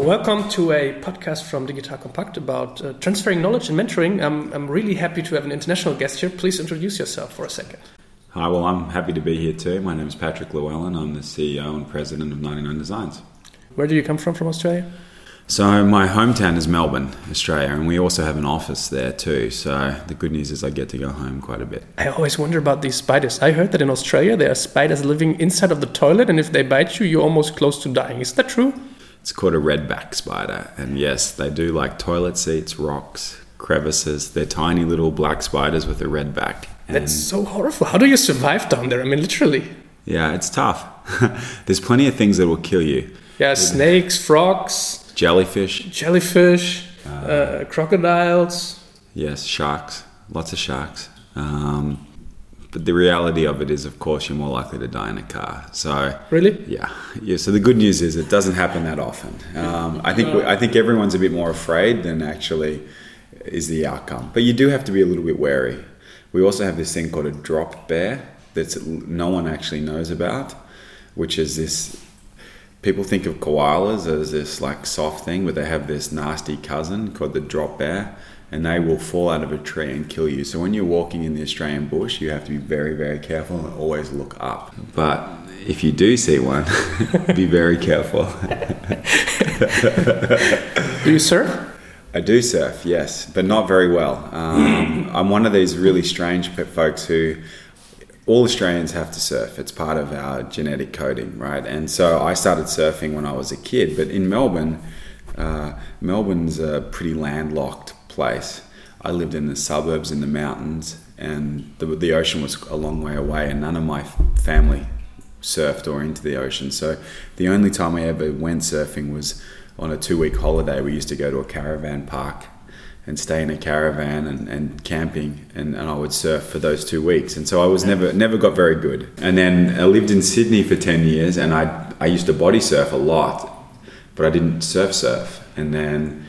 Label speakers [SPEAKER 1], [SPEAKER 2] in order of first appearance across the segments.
[SPEAKER 1] welcome to a podcast from Digital Compact about transferring knowledge and mentoring. I'm really happy to have an international guest here. Please introduce yourself for a second.
[SPEAKER 2] Hi, well, I'm happy to be here too. My name is Patrick Llewellyn. I'm the CEO and President of 99 Designs.
[SPEAKER 1] Where do you come from Australia?
[SPEAKER 2] So my hometown is Melbourne, Australia, and we also have an office there too. So the good news is I get to go home quite a bit.
[SPEAKER 1] I always wonder about these spiders. I heard that in Australia there are spiders living inside of the toilet, and if they bite you, you're almost close to dying. Is that true?
[SPEAKER 2] It's called a redback spider, and yes, they do like toilet seats, rocks, crevices. They're tiny little black spiders with a red back.
[SPEAKER 1] That's so horrible. How do you survive down there? I mean, literally.
[SPEAKER 2] Yeah, it's tough. There's plenty of things that will kill you.
[SPEAKER 1] Yeah, snakes, frogs.
[SPEAKER 2] Jellyfish,
[SPEAKER 1] crocodiles.
[SPEAKER 2] Yes, sharks, lots of sharks. But the reality of it is, of course, you're more likely to die in a car. So
[SPEAKER 1] really,
[SPEAKER 2] yeah. So the good news is it doesn't happen that often. I think everyone's a bit more afraid than actually is the outcome. But you do have to be a little bit wary. We also have this thing called a drop bear that no one actually knows about, which is this. People think of koalas as this like soft thing, but they have this nasty cousin called the drop bear, and they will fall out of a tree and kill you. So when you're walking in the Australian bush, you have to be very, very careful and always look up. But if you do see one, be very careful.
[SPEAKER 1] Do you surf?
[SPEAKER 2] I do surf, yes, but not very well. I'm one of these really strange folks who... All Australians have to surf. It's part of our genetic coding, right? And so I started surfing when I was a kid. But in Melbourne, Melbourne's a pretty landlocked place. I lived in the suburbs in the mountains, and the ocean was a long way away, and none of my family surfed or into the ocean. So the only time I ever went surfing was on a 2-week holiday. We used to go to a caravan park and stay in a caravan and camping, and I would surf for those 2 weeks. And so I was never got very good. And then I lived in Sydney for 10 years, and I used to body surf a lot, but I didn't surf. And then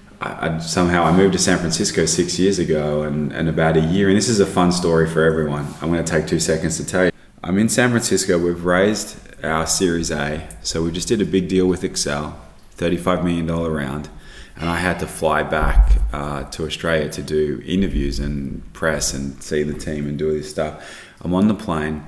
[SPEAKER 2] I moved to San Francisco 6 years ago, and about a year, and this is a fun story for everyone. I'm going to take 2 seconds to tell you. I'm in San Francisco. We've raised our Series A, so we just did a big deal with Excel, $35 million round. And I had to fly back to Australia to do interviews and press and see the team and do all this stuff. I'm on the plane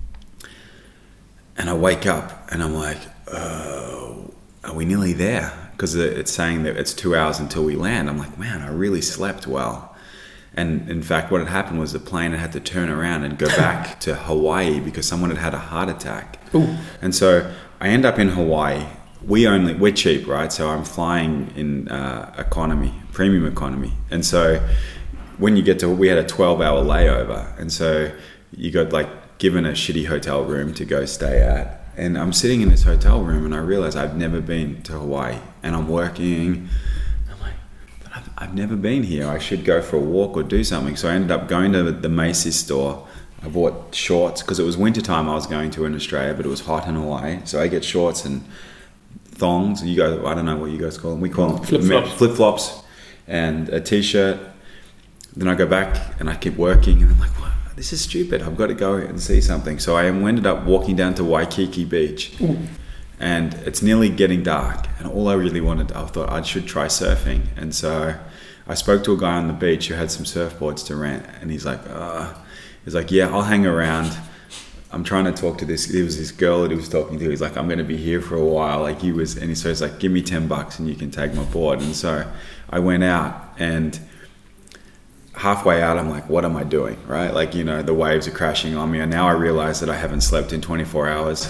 [SPEAKER 2] and I wake up and I'm like, oh, are we nearly there? Because it's saying that it's 2 hours until we land. I'm like, man, I really slept well. And in fact, what had happened was the plane had to turn around and go back to Hawaii because someone had had a heart attack. Ooh. And so I end up in Hawaii. We're cheap, right? So I'm flying in economy, premium economy. And so when you get to, we had a 12-hour layover. And so you got like given a shitty hotel room to go stay at. And I'm sitting in this hotel room and I realize I've never been to Hawaii, and I'm working. I'm like, but I've never been here. I should go for a walk or do something. So I ended up going to the Macy's store. I bought shorts because it was wintertime I was going to in Australia, but it was hot in Hawaii. So I get shorts and thongs, I don't know what you guys call them. We call them flip-flops and a t-shirt. Then I go back and I keep working, and I'm like, what? This is stupid. I've got to go and see something. So I ended up walking down to Waikiki Beach. Ooh. And it's nearly getting dark, and all I really wanted, I thought I should try surfing. And so I spoke to a guy on the beach who had some surfboards to rent, and he's like, yeah, I'll hang around. I'm trying to talk to it was this girl that he was talking to. He's like, I'm going to be here for a while. So he's like, give me $10 and you can take my board. And so I went out, and halfway out, I'm like, what am I doing? Right? Like, the waves are crashing on me. And now I realize that I haven't slept in 24 hours.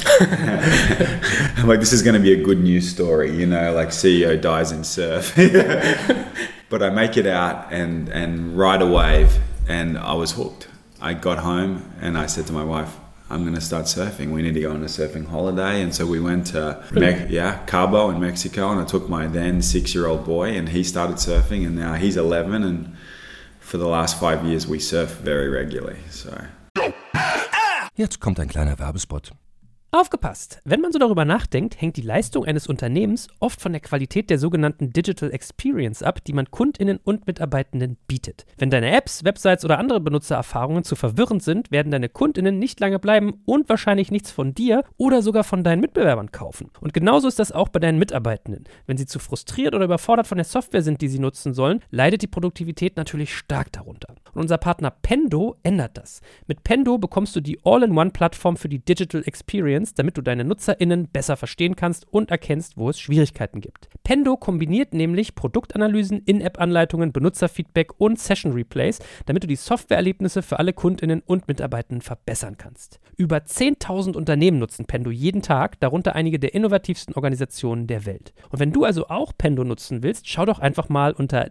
[SPEAKER 2] I'm like, this is going to be a good news story, like CEO dies in surf. But I make it out and ride a wave, and I was hooked. I got home and I said to my wife, I'm going to start surfing. We need to go on a surfing holiday. And so we went to Cabo in Mexico, and I took my then 6-year-old boy, and he started surfing, and now he's 11, and for the last 5 years we surf very regularly. So.
[SPEAKER 3] Jetzt kommt ein kleiner Werbespot. Aufgepasst! Wenn man so darüber nachdenkt, hängt die Leistung eines Unternehmens oft von der Qualität der sogenannten Digital Experience ab, die man KundInnen und Mitarbeitenden bietet. Wenn deine Apps, Websites oder andere Benutzererfahrungen zu verwirrend sind, werden deine KundInnen nicht lange bleiben und wahrscheinlich nichts von dir oder sogar von deinen Mitbewerbern kaufen. Und genauso ist das auch bei deinen Mitarbeitenden. Wenn sie zu frustriert oder überfordert von der Software sind, die sie nutzen sollen, leidet die Produktivität natürlich stark darunter. Und unser Partner Pendo ändert das. Mit Pendo bekommst du die All-in-One-Plattform für die Digital Experience, damit du deine NutzerInnen besser verstehen kannst und erkennst, wo es Schwierigkeiten gibt. Pendo kombiniert nämlich Produktanalysen, In-App-Anleitungen, Benutzerfeedback und Session-Replays, damit du die Softwareerlebnisse für alle KundInnen und Mitarbeitenden verbessern kannst. Über 10.000 Unternehmen nutzen Pendo jeden Tag, darunter einige der innovativsten Organisationen der Welt. Und wenn du also auch Pendo nutzen willst, schau doch einfach mal unter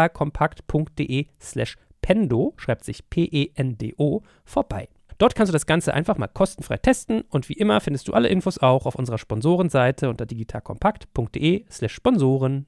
[SPEAKER 3] digitalkompakt.de/Pendo, schreibt sich P-E-N-D-O, vorbei. Dort kannst du das Ganze einfach mal kostenfrei testen und wie immer findest du alle Infos auch auf unserer Sponsorenseite unter digitalkompakt.de/Sponsoren.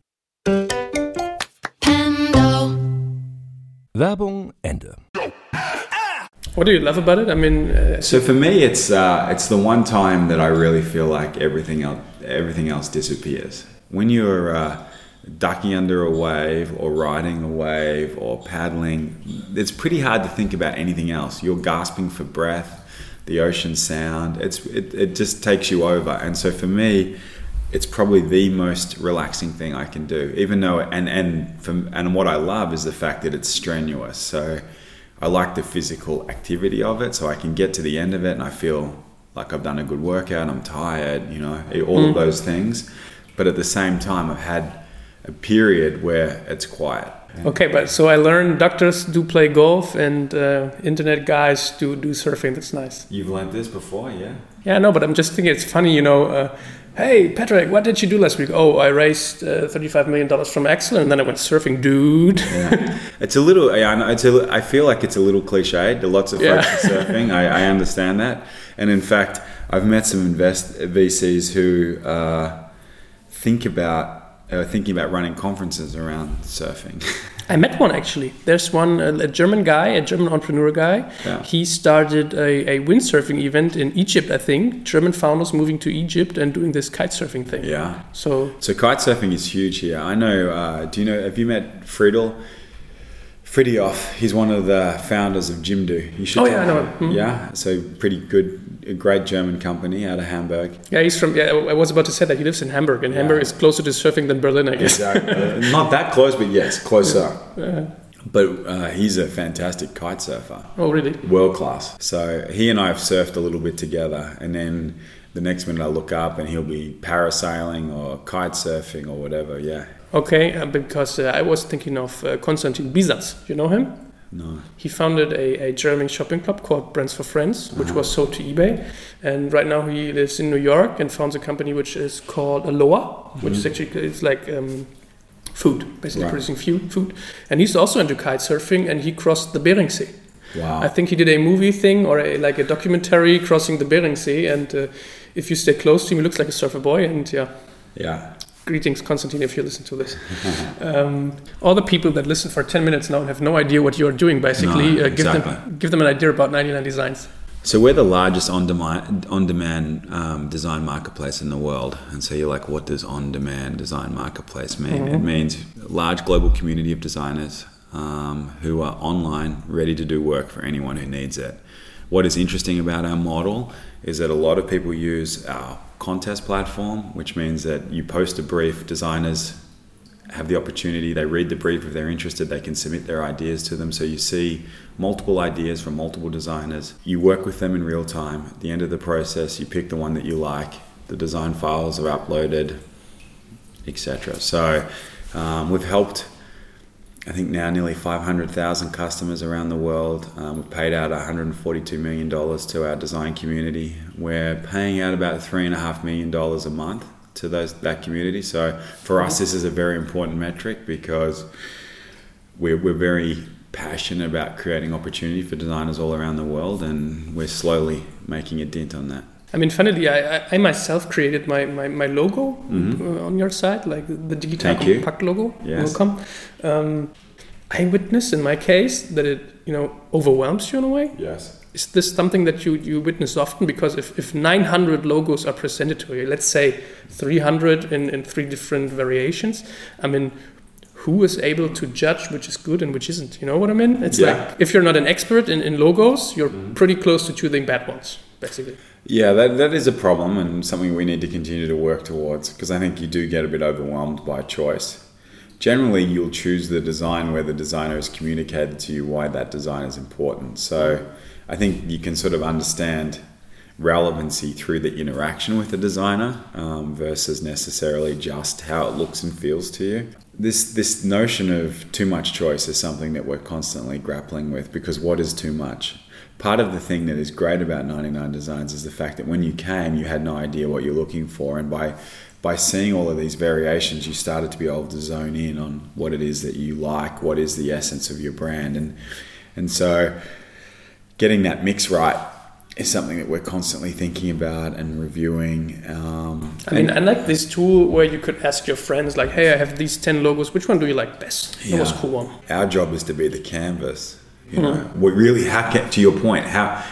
[SPEAKER 3] Werbung Ende.
[SPEAKER 1] What do you love about it? I mean,
[SPEAKER 2] So for me, it's the one time that I really feel like everything else disappears. When you're ducking under a wave or riding a wave or paddling, it's pretty hard to think about anything else. You're gasping for breath, the ocean sound, it just takes you over. And so for me, it's probably the most relaxing thing I can do, even though, and what I love is the fact that it's strenuous. So I like the physical activity of it, so I can get to the end of it and I feel like I've done a good workout, I'm tired, all of those things. But at the same time, I've had a period where it's quiet.
[SPEAKER 1] Okay, but so I learned doctors do play golf and internet guys do surfing. That's nice.
[SPEAKER 2] You've learned this before, yeah?
[SPEAKER 1] Yeah, no, but I'm just thinking it's funny, hey, Patrick, what did you do last week? Oh, I raised $35 million from Excel and then I went surfing, dude.
[SPEAKER 2] Yeah. It's a little, I feel like it's a little cliched. Lots of folks are surfing. I understand that. And in fact, I've met some VCs who thinking about running conferences around surfing.
[SPEAKER 1] I met one actually. There's one, a German entrepreneur guy.
[SPEAKER 2] Yeah.
[SPEAKER 1] He started a windsurfing event in Egypt, I think. German founders moving to Egypt and doing this kite surfing thing.
[SPEAKER 2] Yeah.
[SPEAKER 1] So
[SPEAKER 2] kite surfing is huge here. I know, have you met Fridtjof? He's one of the founders of Jimdo. You should
[SPEAKER 1] I know him. Mm-hmm.
[SPEAKER 2] Yeah, so pretty good, a great German company out of Hamburg.
[SPEAKER 1] Yeah, I was about to say that. He lives in Hamburg, and Hamburg is closer to surfing than Berlin, I guess.
[SPEAKER 2] Exactly. Not that close, but yes, closer. Yeah. But he's a fantastic kite surfer.
[SPEAKER 1] Oh, really?
[SPEAKER 2] World class. So he and I have surfed a little bit together, and then the next minute I look up and he'll be parasailing or kite surfing or whatever, yeah.
[SPEAKER 1] Okay, because I was thinking of Konstantin Bisas. You know him?
[SPEAKER 2] No.
[SPEAKER 1] He founded a German shopping club called Brands for Friends, which was sold to eBay. And right now he lives in New York and founds a company which is called Aloha, which is actually, it's like food, basically producing food. And he's also into kite surfing, and he crossed the Bering Sea.
[SPEAKER 2] Wow.
[SPEAKER 1] I think he did a movie thing or a documentary crossing the Bering Sea. And if you stay close to him, he looks like a surfer boy. And
[SPEAKER 2] yeah.
[SPEAKER 1] Greetings, Konstantin, if you listen to this. All the people that listen for 10 minutes now and have no idea what you're doing, basically,
[SPEAKER 2] exactly.
[SPEAKER 1] give them an idea about 99 Designs.
[SPEAKER 2] So we're the largest on-demand design marketplace in the world. And so you're like, what does on-demand design marketplace mean? Mm-hmm. It means a large global community of designers who are online, ready to do work for anyone who needs it. What is interesting about our model is that a lot of people use our contest platform, which means that you post a brief, designers have the opportunity, they read the brief, if they're interested, they can submit their ideas to them. So you see multiple ideas from multiple designers. You work with them in real time. At the end of the process, you pick the one that you like, the design files are uploaded, etc. So we've helped, I think now nearly 500,000 customers around the world. We've paid out $142 million to our design community. We're paying out about $3.5 million a month to that community. So for us, this is a very important metric because we're very passionate about creating opportunity for designers all around the world, and we're slowly making a dent on that.
[SPEAKER 1] I mean, funnily, I myself created my logo on your site, like the Digital Compact logo.
[SPEAKER 2] Yes.
[SPEAKER 1] Welcome. I witnessed in my case that it, overwhelms you in a way.
[SPEAKER 2] Yes.
[SPEAKER 1] Is this something that you witness often? Because if 900 logos are presented to you, let's say 300 in 3 different variations, I mean, who is able to judge which is good and which isn't? You know what I mean? It's like, if you're not an expert in logos, you're pretty close to choosing bad ones, basically.
[SPEAKER 2] Yeah, that is a problem and something we need to continue to work towards, because I think you do get a bit overwhelmed by choice. Generally, you'll choose the design where the designer has communicated to you why that design is important. So I think you can sort of understand relevancy through the interaction with the designer versus necessarily just how it looks and feels to you. This notion of too much choice is something that we're constantly grappling with, because what is too much? Part of the thing that is great about 99 Designs is the fact that when you came, you had no idea what you're looking for, and by seeing all of these variations, you started to be able to zone in on what it is that you like, what is the essence of your brand, and so getting that mix right is something that we're constantly thinking about and reviewing.
[SPEAKER 1] I mean, I like this tool where you could ask your friends, like, hey, I have these 10 logos, which one do you like best? That was a cool one.
[SPEAKER 2] Our job is to be the canvas. You know, we really have to your point.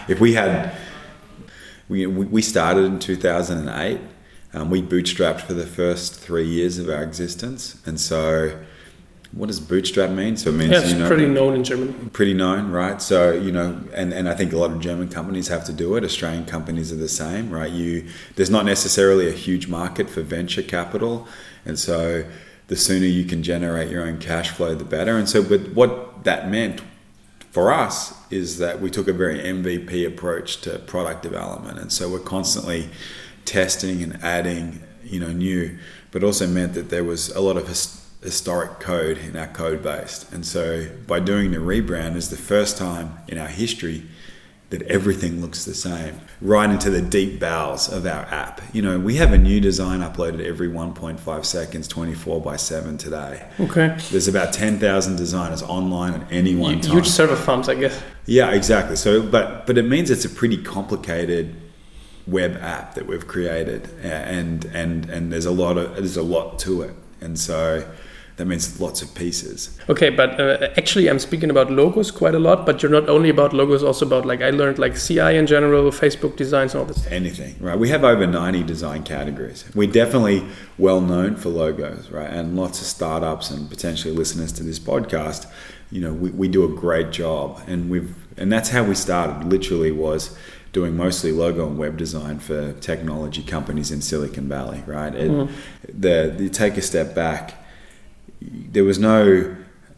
[SPEAKER 2] We started in 2008. We bootstrapped for the first 3 years of our existence, and so what does bootstrap mean? So it means
[SPEAKER 1] it's pretty known in Germany.
[SPEAKER 2] Pretty known, right? So and I think a lot of German companies have to do it. Australian companies are the same, right? There's not necessarily a huge market for venture capital, and so the sooner you can generate your own cash flow, the better. And so, but what that meant for us is that we took a very MVP approach to product development, and so we're constantly testing and adding, new, but also meant that there was a lot of historic code in our code base. And so by doing the rebrand is the first time in our history that everything looks the same, right into the deep bowels of our app. We have a new design uploaded every 1.5 seconds, 24/7 today.
[SPEAKER 1] Okay.
[SPEAKER 2] There's about 10,000 designers online at any one time.
[SPEAKER 1] Huge server farms, I guess.
[SPEAKER 2] Yeah, exactly. So, but it means it's a pretty complicated web app that we've created, and there's a lot to it, and so that means lots of pieces.
[SPEAKER 1] Okay, but actually I'm speaking about logos quite a lot, but you're not only about logos, also about, like, I learned, like, CI in general, Facebook designs, and all this.
[SPEAKER 2] Anything, right? We have over 90 design categories. We're definitely well known for logos, right? And lots of startups and potentially listeners to this podcast, we do a great job, and that's how we started. Literally was doing mostly logo and web design for technology companies in Silicon Valley, right? You take a step back. There was no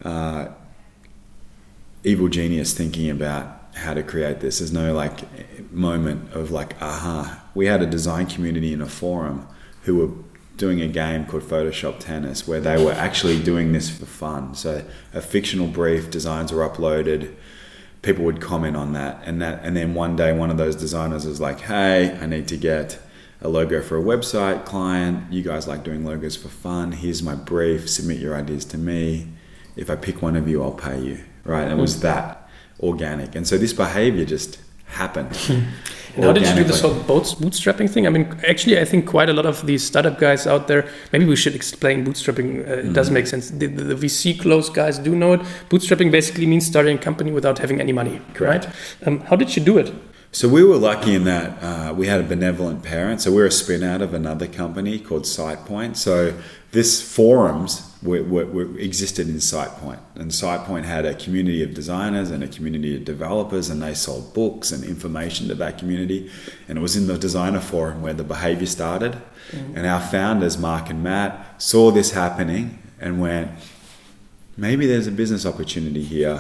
[SPEAKER 2] evil genius thinking about how to create this. There's no moment of aha. We had a design community in a forum who were doing a game called Photoshop Tennis, where they were actually doing this for fun. So a fictional brief, designs were uploaded, people would comment on that, and then one day one of those designers was like, hey, I need to get a logo for a website client. You guys like doing logos for fun. Here's my brief. Submit your ideas to me. If I pick one of you, I'll pay you. Right? And it was that organic. And so this behavior just happened.
[SPEAKER 1] And how did you do this whole bootstrapping thing? I mean, actually, I think quite a lot of these startup guys out there, maybe we should explain bootstrapping. It does make sense. The VC close guys do know it. Bootstrapping basically means starting a company without having any money, right? How did you do it?
[SPEAKER 2] So we were lucky in that we had a benevolent parent. So we're a spin out of another company called SitePoint. So this forums were existed in SitePoint, and SitePoint had a community of designers and a community of developers, and they sold books and information to that community. And it was in the designer forum where the behavior started. And our founders, Mark and Matt, saw this happening and went, maybe there's a business opportunity here.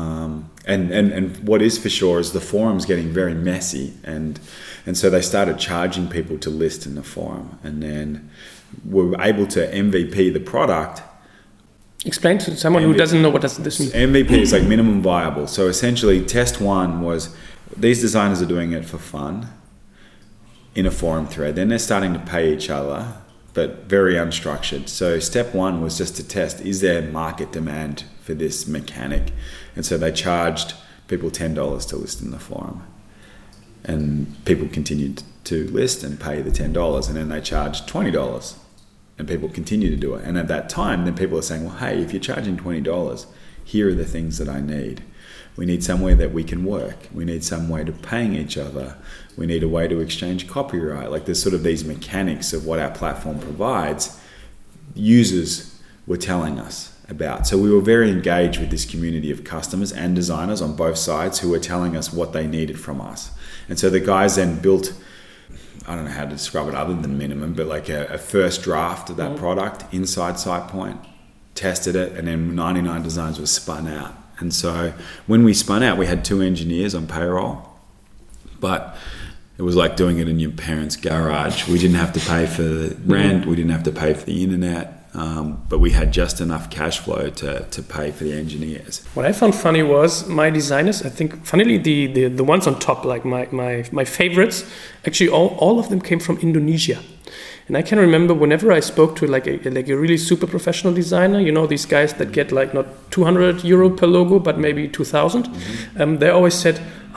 [SPEAKER 2] And what is for sure is the forum's getting very messy, and so they started charging people to list in the forum, and then were able to MVP the product.
[SPEAKER 1] Explain to someone who doesn't know what this means.
[SPEAKER 2] MVP is like minimum viable. So essentially test one was these designers are doing it for fun in a forum thread. Then they're starting to pay each other, but very unstructured. So step one was just to test, is there market demand for this mechanic? And so they charged people $10 to list in the forum. And people continued to list and pay the $10. And then they charged $20 and people continued to do it. And at that time, then people are saying, well, hey, if you're charging $20, here are the things that I need. We need somewhere that we can work. We need some way to paying each other. We need a way to exchange copyright. Like there's sort of these mechanics of what our platform provides. Users were telling us about. So we were very engaged with this community of customers and designers on both sides who were telling us what they needed from us. And so the guys then built, I don't know how to describe it other than minimum, but like a first draft of that product inside SitePoint, tested it, and then 99 Designs was spun out. And so when we spun out, we had 2 engineers on payroll, but it was like doing it in your parents' garage. We didn't have to pay for the rent, we didn't have to pay for the internet, but we had just enough cash flow to pay for the engineers.
[SPEAKER 1] What I found funny was my designers, I think, funnily, the ones on top, like my favorites, actually all of them came from Indonesia. And I can remember whenever I spoke to like a really super professional designer, you know, these guys that get like not 200 euro per logo, but maybe 2,000, they always said,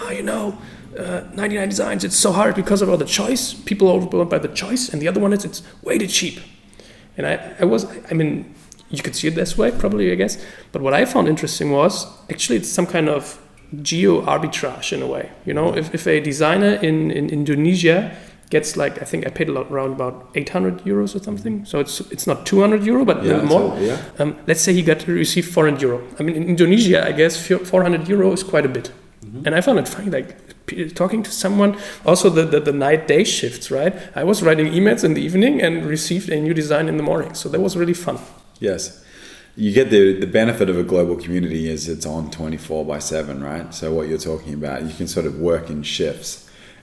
[SPEAKER 1] 99 Designs, it's so hard because of all the choice. People are overwhelmed by the choice. And the other one is it's way too cheap. And I mean, you could see it this way, probably, I guess. But what I found interesting was actually it's some kind of geo arbitrage in a way. You know, if a designer in Indonesia gets like, I think I paid around about 800 euros or something. So it's not 200 euro, but a little more. Let's say he received 400 euro. I mean, in Indonesia, I guess 400 euro is quite a bit. And I found it funny, like talking to someone, also the night-day shifts, right? I was writing emails in the evening and received a new design in the morning. So that was really fun.
[SPEAKER 2] Yes. You get the benefit of a global community is it's on 24/7, right? So what you're talking about, you can sort of work in shifts.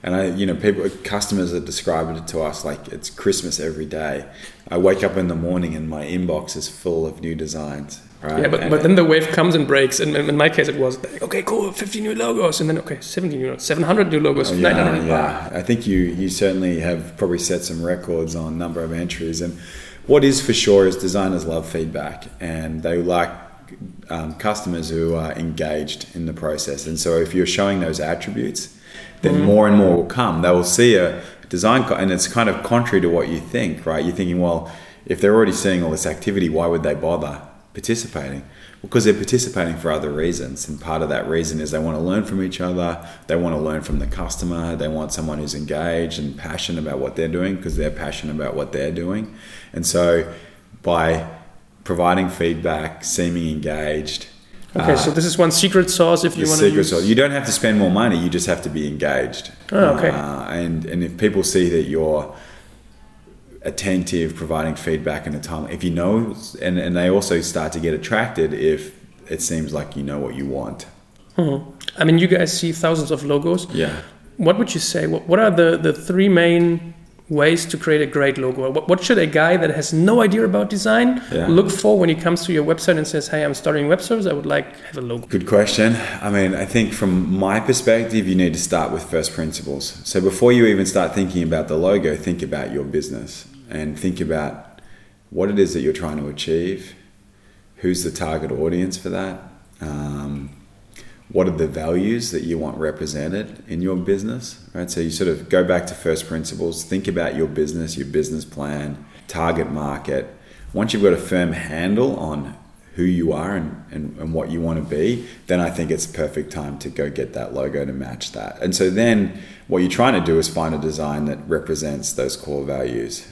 [SPEAKER 2] And customers are describing it to us like it's Christmas every day. I wake up in the morning and my inbox is full of new designs. Right?
[SPEAKER 1] Yeah, but then the wave comes and breaks. And in my case, it was like, okay, cool, 50 new logos. And then, okay, 700 new logos, 900.
[SPEAKER 2] Yeah, I think you certainly have probably set some records on number of entries. And what is for sure is designers love feedback. And they like customers who are engaged in the process. And so if you're showing those attributes, then more and more will come. They will see a design, and it's kind of contrary to what you think, right? You're thinking, well, if they're already seeing all this activity, why would they bother participating? Because they're participating for other reasons. And part of that reason is they want to learn from each other. They want to learn from the customer. They want someone who's engaged and passionate about what they're doing because they're passionate about what they're doing. And so by providing feedback, seeming engaged.
[SPEAKER 1] Okay, so this is one secret sauce if you want to use...
[SPEAKER 2] sauce. You don't have to spend more money, you just have to be engaged.
[SPEAKER 1] Oh, okay.
[SPEAKER 2] And if people see that you're attentive, providing feedback in a time, if you know, and they also start to get attracted if it seems like you know what you want.
[SPEAKER 1] I mean, you guys see thousands of logos.
[SPEAKER 2] Yeah.
[SPEAKER 1] What would you say? What are the 3 main ways to create a great logo? What should a guy that has no idea about design look for when he comes to your website and says, hey, I'm starting web service, I would like to have a logo?
[SPEAKER 2] Good question. I mean, I think from my perspective, you need to start with first principles. So before you even start thinking about the logo, think about your business and think about what it is that you're trying to achieve, who's the target audience for that, what are the values that you want represented in your business, right? So you sort of go back to first principles, think about your business plan, target market. Once you've got a firm handle on who you are and what you want to be, then I think it's perfect time to go get that logo to match that. And so then what you're trying to do is find a design that represents those core values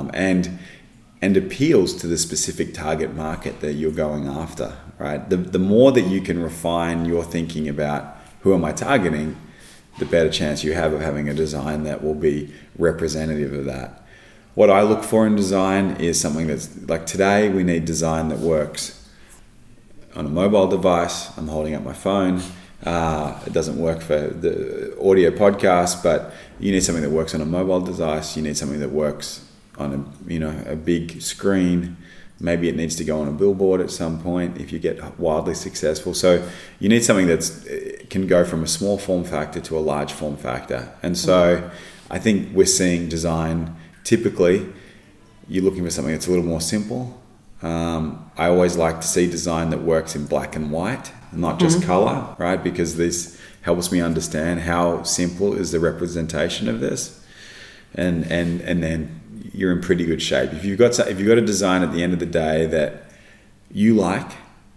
[SPEAKER 2] and appeals to the specific target market that you're going after, right? The more that you can refine your thinking about who am I targeting, the better chance you have of having a design that will be representative of that. What I look for in design is something that's like today we need design that works on a mobile device. I'm holding up my phone. It doesn't work for the audio podcast, but you need something that works on a mobile device. You need something that works on a big screen. Maybe it needs to go on a billboard at some point if you get wildly successful. So you need something that can go from a small form factor to a large form factor. And so I think we're seeing design, typically you're looking for something that's a little more simple. I always like to see design that works in black and white, not just color, right? Because this helps me understand how simple is the representation of this. And then you're in pretty good shape. If you've got a design at the end of the day that you like,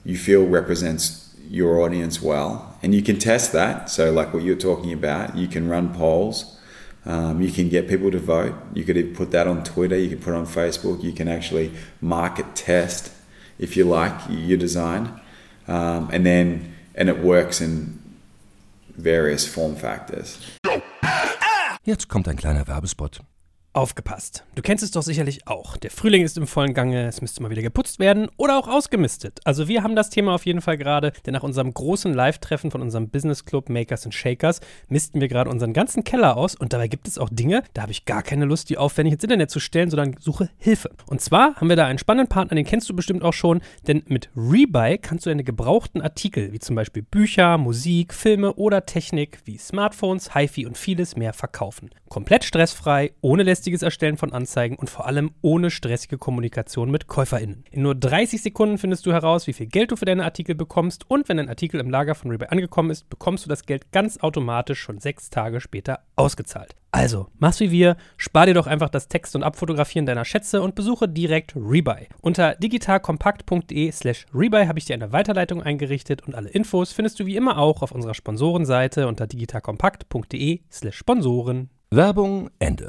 [SPEAKER 2] you feel represents your audience well. And you can test that. So like what you're talking about, you can run polls. You can get people to vote. You could even put that on Twitter. You could put it on Facebook. You can actually market test, if you like, your design. And it works in various form factors.
[SPEAKER 4] Jetzt kommt ein kleiner Werbespot.
[SPEAKER 3] Aufgepasst. Du kennst es doch sicherlich auch. Der Frühling ist im vollen Gange, es müsste mal wieder geputzt werden oder auch ausgemistet. Also wir haben das Thema auf jeden Fall gerade, denn nach unserem großen Live-Treffen von unserem Business Club Makers and Shakers misten wir gerade unseren ganzen Keller aus und dabei gibt es auch Dinge, da habe ich gar keine Lust, die aufwendig ins Internet zu stellen, sondern suche Hilfe. Und zwar haben wir da einen spannenden Partner, den kennst du bestimmt auch schon, denn mit Rebuy kannst du deine gebrauchten Artikel, wie zum Beispiel Bücher, Musik, Filme oder Technik wie Smartphones, HiFi und vieles mehr verkaufen. Komplett stressfrei, ohne lästiges Erstellen von Anzeigen und vor allem ohne stressige Kommunikation mit KäuferInnen. In nur 30 Sekunden findest du heraus, wie viel Geld du für deine Artikel bekommst und wenn dein Artikel im Lager von Rebuy angekommen ist, bekommst du das Geld ganz automatisch schon 6 Tage später ausgezahlt. Also, mach's wie wir, spar dir doch einfach das Text- und Abfotografieren deiner Schätze und besuche direkt Rebuy. Unter digitalkompakt.de/Rebuy habe ich dir eine Weiterleitung eingerichtet und alle Infos findest du wie immer auch auf unserer Sponsorenseite unter digitalkompakt.de/Sponsoren.
[SPEAKER 4] Werbung Ende.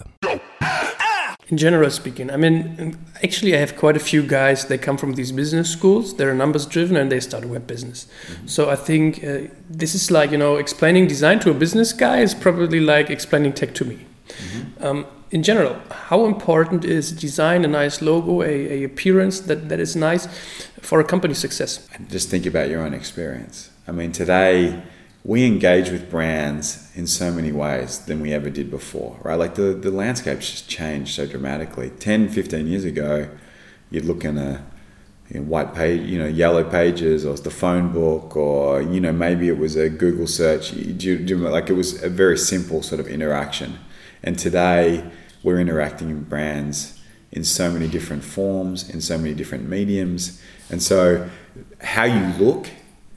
[SPEAKER 1] In general speaking, I mean, actually I have quite a few guys, they come from these business schools, they're numbers driven and they start a web business. So I think this is like, explaining design to a business guy is probably like explaining tech to me. In general, how important is design, a nice logo, a appearance that is nice for a company's success?
[SPEAKER 2] Just think about your own experience. I mean, today we engage with brands in so many ways than we ever did before, right? Like the landscape's just changed so dramatically. 10, 15 years ago, you'd look in a white page, yellow pages, or the phone book, or, maybe it was a Google search. Like it was a very simple sort of interaction. And today we're interacting with brands in so many different forms, in so many different mediums. And so how you look,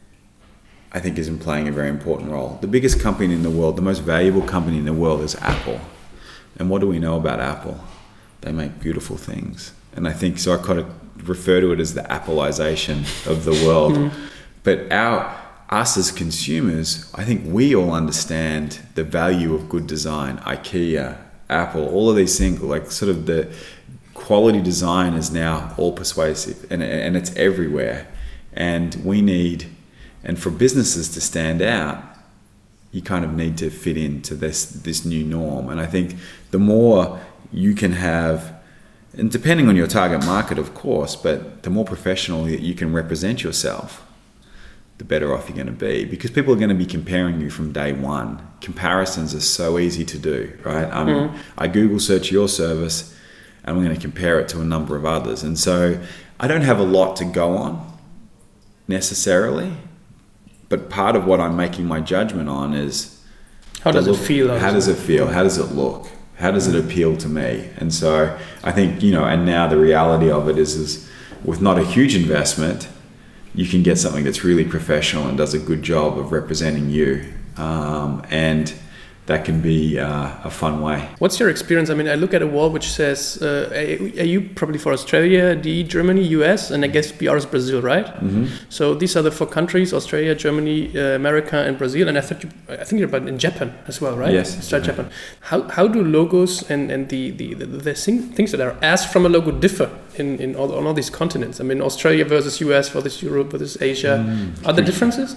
[SPEAKER 2] I think, is playing a very important role. The biggest company in the world, the most valuable company in the world is Apple. And what do we know about Apple? They make beautiful things. And I think, so I kind of refer to it as the Appleization of the world. Mm-hmm. But us as consumers, I think we all understand the value of good design. IKEA, Apple, all of these things, like sort of the quality design is now all persuasive and it's everywhere. And and for businesses to stand out, you kind of need to fit into this new norm. And I think the more you can have, and depending on your target market, of course, but the more professional that you can represent yourself, the better off you're going to be, because people are going to be comparing you from day one. Comparisons are so easy to do, right? I Google search your service and I'm going to compare it to a number of others. And so I don't have a lot to go on necessarily, but part of what I'm making my judgment on is
[SPEAKER 1] how does it feel?
[SPEAKER 2] How does it feel? How does it look? How does it appeal to me? And so I think, and now the reality of it is with not a huge investment, you can get something that's really professional and does a good job of representing you. And that can be a fun way.
[SPEAKER 1] What's your experience? I mean, I look at a wall which says AU probably for Australia, D, Germany, US, and I guess BR is Brazil, right? Mm-hmm. So these are the 4 countries: Australia, Germany, America, and Brazil. And I think you're about in Japan as well, right?
[SPEAKER 2] Yes.
[SPEAKER 1] Japan. How do logos and the things that are asked from a logo differ on all these continents? I mean, Australia versus US versus Europe versus Asia. Are there differences?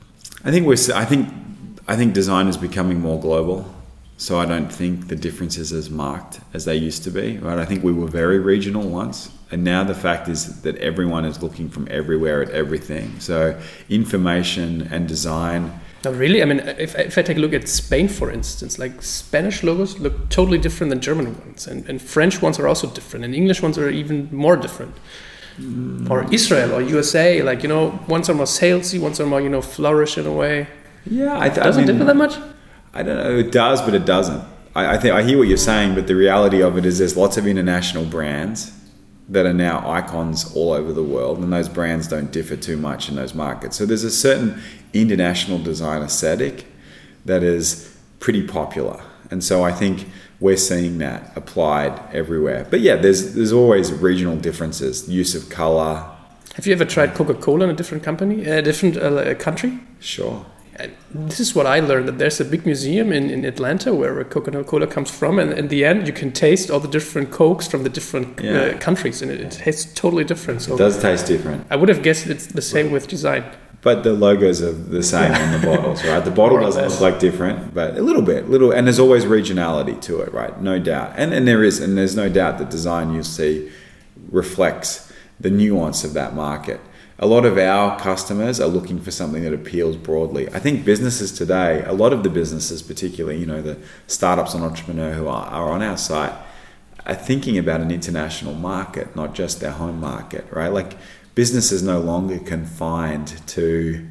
[SPEAKER 2] I think design is becoming more global, so I don't think the difference is as marked as they used to be, right? I think we were very regional once, and now the fact is that everyone is looking from everywhere at everything. So information and design.
[SPEAKER 1] No, really? I mean, if I take a look at Spain, for instance, like Spanish logos look totally different than German ones, and French ones are also different, and English ones are even more different. Or Israel or USA, ones are more salesy, ones are more, flourish in a way.
[SPEAKER 2] Yeah,
[SPEAKER 1] doesn't differ that much?
[SPEAKER 2] I don't know. It does, but it doesn't. I think I hear what you're saying, but the reality of it is there's lots of international brands that are now icons all over the world, and those brands don't differ too much in those markets. So there's a certain international design aesthetic that is pretty popular, and so I think we're seeing that applied everywhere. But yeah, there's always regional differences, use of color.
[SPEAKER 1] Have you ever tried Coca-Cola in a different company, country?
[SPEAKER 2] Sure.
[SPEAKER 1] This is what I learned, that there's a big museum in Atlanta where Coca-Cola comes from, and in the end you can taste all the different Cokes from the different countries, and it tastes totally different. So
[SPEAKER 2] it does taste different.
[SPEAKER 1] I would have guessed it's the same with design.
[SPEAKER 2] But the logos are the same on the bottles, right? The bottle doesn't look like different, but a little, and there's always regionality to it, right? No doubt. And there's no doubt that design you'll see reflects the nuance of that market. A lot of our customers are looking for something that appeals broadly. I think businesses today, a lot of the businesses, particularly, the startups and entrepreneurs who are on our site, are thinking about an international market, not just their home market, right? Like business is no longer confined to,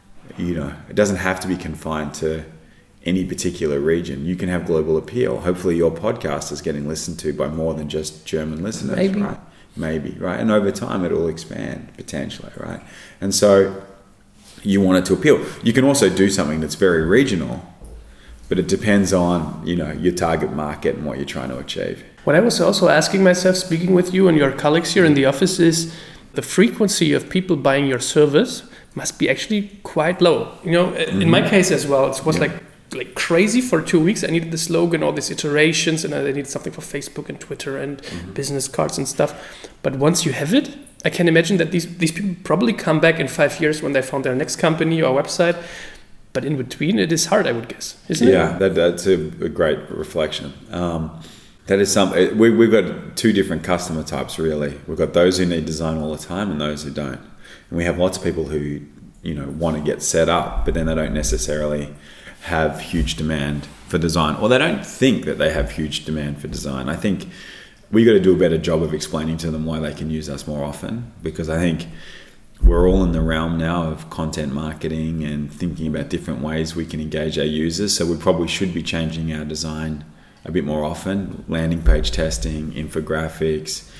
[SPEAKER 2] it doesn't have to be confined to any particular region. You can have global appeal. Hopefully your podcast is getting listened to by more than just German listeners, right? Maybe, right? And over time it will expand potentially, right? And so you want it to appeal. You can also do something that's very regional, but it depends on, your target market and what you're trying to achieve.
[SPEAKER 1] What I was also asking myself, speaking with you and your colleagues here in the office, is the frequency of people buying your service must be actually quite low. In my case as well, it was like crazy for 2 weeks. I needed the slogan, all these iterations, and I needed something for Facebook and Twitter and business cards and stuff. But once you have it, I can imagine that these people probably come back in 5 years when they found their next company or website. But in between, it is hard, I would guess, isn't it?
[SPEAKER 2] Yeah, that's a great reflection. That is something. We've got two different customer types, really. We've got those who need design all the time and those who don't. And we have lots of people who, want to get set up, but then they don't necessarily have huge demand for design, or they don't think that they have huge demand for design. I think we got to do a better job of explaining to them why they can use us more often, because I think we're all in the realm now of content marketing and thinking about different ways we can engage our users. So we probably should be changing our design a bit more often. Landing page testing, infographics,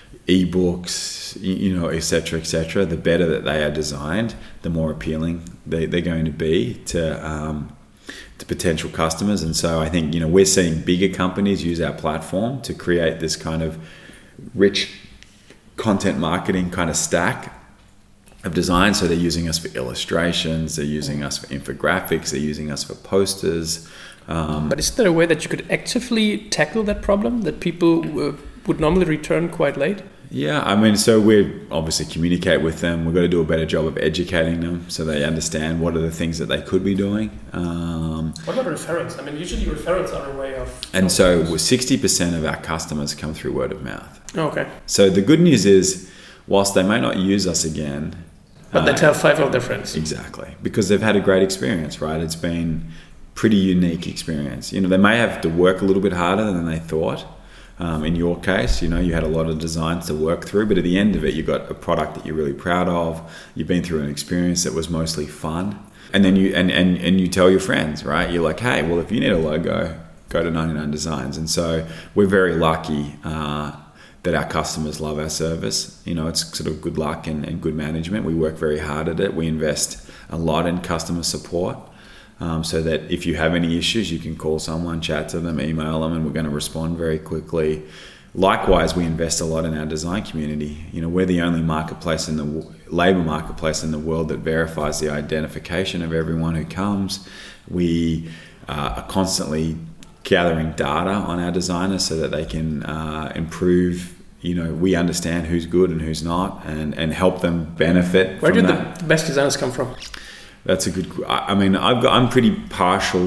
[SPEAKER 2] ebooks, et cetera. The better that they are designed, the more appealing they're going to be to potential customers. And so I think, we're seeing bigger companies use our platform to create this kind of rich content marketing kind of stack of design. So they're using us for illustrations, they're using us for infographics, they're using us for posters.
[SPEAKER 1] But is there a way that you could actively tackle that problem that people would normally return quite late?
[SPEAKER 2] Yeah, so we obviously communicate with them. We've got to do a better job of educating them so they understand what are the things that they could be doing.
[SPEAKER 1] What about referrals? Usually referrals are a way of...
[SPEAKER 2] And so 60% of our customers come through word of mouth.
[SPEAKER 1] Okay.
[SPEAKER 2] So the good news is, whilst they may not use us again...
[SPEAKER 1] But they tell 5 of their friends.
[SPEAKER 2] Exactly. Because they've had a great experience, right? It's been pretty unique experience. They may have to work a little bit harder than they thought. In your case, you had a lot of designs to work through, but at the end of it, you got a product that you're really proud of. You've been through an experience that was mostly fun, and then you tell your friends, right? You're like, hey, well, if you need a logo, go to 99 Designs. And so we're very lucky that our customers love our service. It's sort of good luck and good management. We work very hard at it. We invest a lot in customer support. So that if you have any issues, you can call someone, chat to them, email them, and we're going to respond very quickly. Likewise, we invest a lot in our design community. We're the only marketplace labor marketplace in the world that verifies the identification of everyone who comes. We are constantly gathering data on our designers so that they can improve. We understand who's good and who's not, and help them benefit.
[SPEAKER 1] Where did the best designers come from?
[SPEAKER 2] That's a good... I'm pretty partial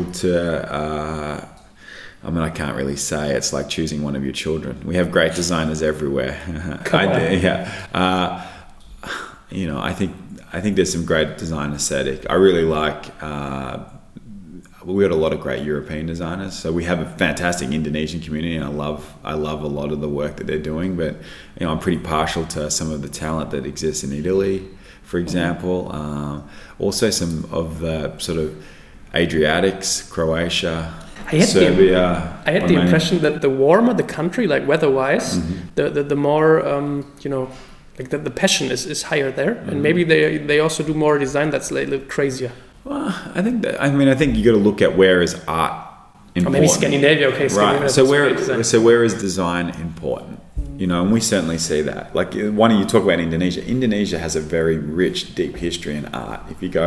[SPEAKER 2] to... I can't really say. It's like choosing one of your children. We have great designers everywhere. I think there's some great design aesthetic. I really like... we got a lot of great European designers. So we have a fantastic Indonesian community, and I love a lot of the work that they're doing. But I'm pretty partial to some of the talent that exists in Italy, for example. Also some of the sort of Adriatics, Croatia, Serbia.
[SPEAKER 1] I had the impression that the warmer the country, like weather-wise, the more the passion is higher there, and maybe they also do more design that's a little crazier.
[SPEAKER 2] Well, I think you got to look at where is art important.
[SPEAKER 1] Or maybe Scandinavia. Okay,
[SPEAKER 2] right. So where is design important? And we certainly see that. Like, why don't you talk about Indonesia? Indonesia has a very rich, deep history in art.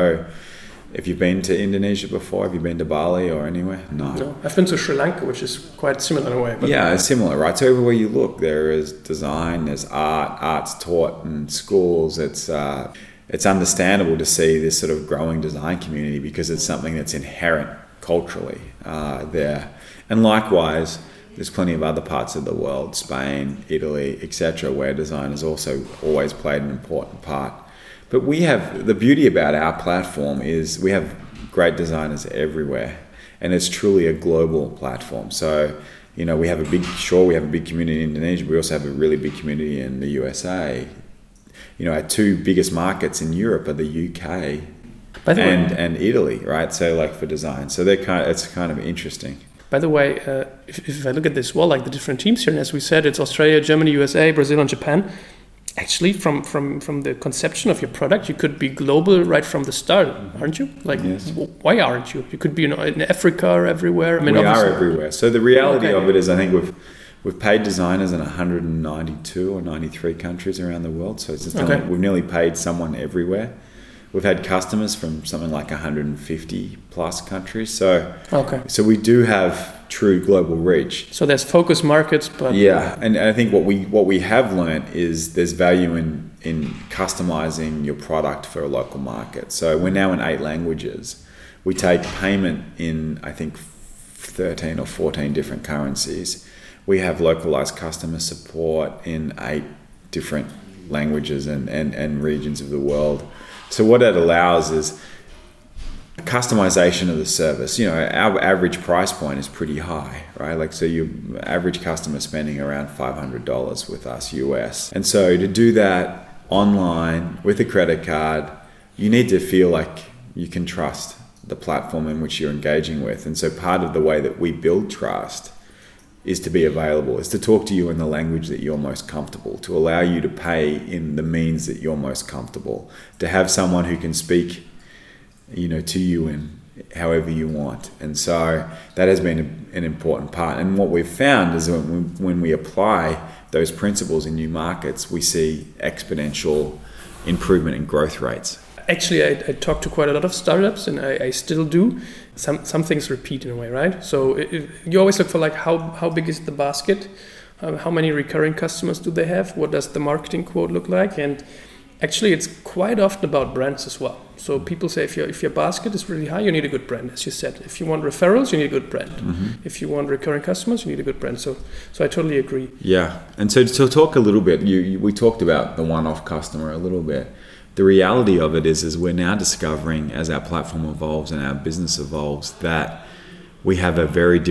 [SPEAKER 2] If you've been to Indonesia before, have you been to Bali or anywhere? No.
[SPEAKER 1] I've been to Sri Lanka, which is quite similar in a way. But
[SPEAKER 2] yeah, it's similar, right? So everywhere you look, there is design, there's art, art's taught in schools. It's understandable to see this sort of growing design community because it's something that's inherent culturally there. And likewise, there's plenty of other parts of the world, Spain, Italy, etc., where design has also always played an important part. But the beauty about our platform is we have great designers everywhere, and it's truly a global platform. So, we have a big community in Indonesia, but we also have a really big community in the USA. Our two biggest markets in Europe are the UK and Italy, right? So, like, for design, so it's kind of interesting.
[SPEAKER 1] By the way, if I look at this wall, like the different teams here, and as we said, it's Australia, Germany, USA, Brazil, and Japan. Actually, from the conception of your product, you could be global right from the start, aren't you? Like, yes. Why aren't you? You could be in Africa or everywhere.
[SPEAKER 2] I mean, we are everywhere. So the reality of it is, I think we've paid designers in 192 or 93 countries around the world. So we've nearly paid someone everywhere. We've had customers from something like 150 plus countries. So we do have true global reach.
[SPEAKER 1] So there's focus markets, but
[SPEAKER 2] yeah, and I think what we have learned is there's value in customizing your product for a local market. So we're now in 8 languages. We take payment in, I think, 13 or 14 different currencies. We have localized customer support in 8 different languages and regions of the world. So what that allows is customization of the service. Our average price point is pretty high, right? Like, so your average customer spending around $500 with us US. And so to do that online with a credit card, you need to feel like you can trust the platform in which you're engaging with. And so part of the way that we build trust is to be available, is to talk to you in the language that you're most comfortable, to allow you to pay in the means that you're most comfortable, to have someone who can speak, to you in however you want. And so that has been an important part. And what we've found is when we apply those principles in new markets, we see exponential improvement in growth rates.
[SPEAKER 1] Actually, I talk to quite a lot of startups, and I still do. Some things repeat in a way, right? So you always look for, like, how big is the basket? How many recurring customers do they have? What does the marketing quote look like? And actually, it's quite often about brands as well. So people say if your basket is really high, you need a good brand, as you said. If you want referrals, you need a good brand. Mm-hmm. If you want recurring customers, you need a good brand. So I totally agree.
[SPEAKER 2] Yeah, and so to talk a little bit, we talked about the one-off customer a little bit. The reality of it is we're now discovering, as our platform evolves and our business evolves, that we have a very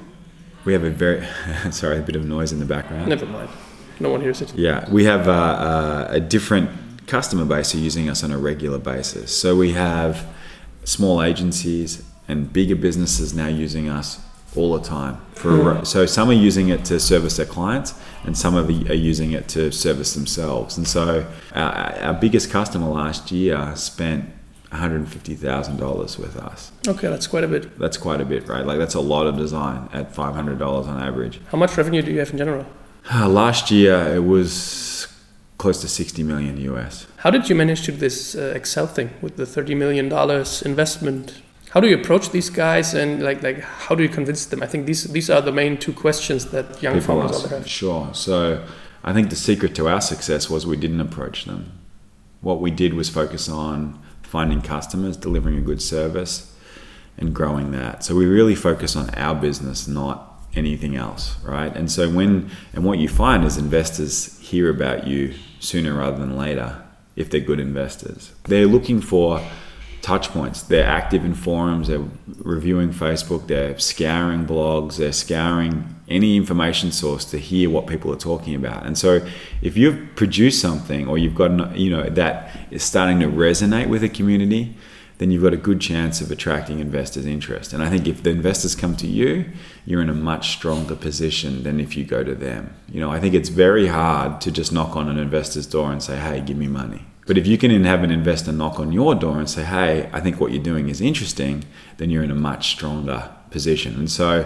[SPEAKER 2] sorry, a bit of noise in the background.
[SPEAKER 1] Never mind. No one hears it.
[SPEAKER 2] Yeah, we have a different customer base who are using us on a regular basis. So we have small agencies and bigger businesses now using us all the time. So some are using it to service their clients, and some are using it to service themselves. And so our biggest customer last year spent $150,000 with us.
[SPEAKER 1] Okay, that's quite a bit.
[SPEAKER 2] That's quite a bit, right? Like, that's a lot of design at $500 on average.
[SPEAKER 1] How much revenue do you have in general?
[SPEAKER 2] Last year it was close to $60 million US.
[SPEAKER 1] How did you manage to do this Excel thing with the $30 million investment? How do you approach these guys, and like how do you convince them? I think these are the main 2 questions that young founders have.
[SPEAKER 2] Sure. So I think the secret to our success was we didn't approach them. What we did was focus on finding customers, delivering a good service, and growing that. So we really focus on our business, not anything else, right? And so what you find is investors hear about you sooner rather than later if they're good investors. They're looking for touch points. They're active in forums, they're reviewing Facebook, they're scouring blogs, they're scouring any information source to hear what people are talking about. And so if you've produced something, or you've got, that is starting to resonate with a community, then you've got a good chance of attracting investors' interest. And I think if the investors come to you, you're in a much stronger position than if you go to them. I think it's very hard to just knock on an investor's door and say, hey, give me money. But if you can have an investor knock on your door and say, hey, I think what you're doing is interesting, then you're in a much stronger position. And so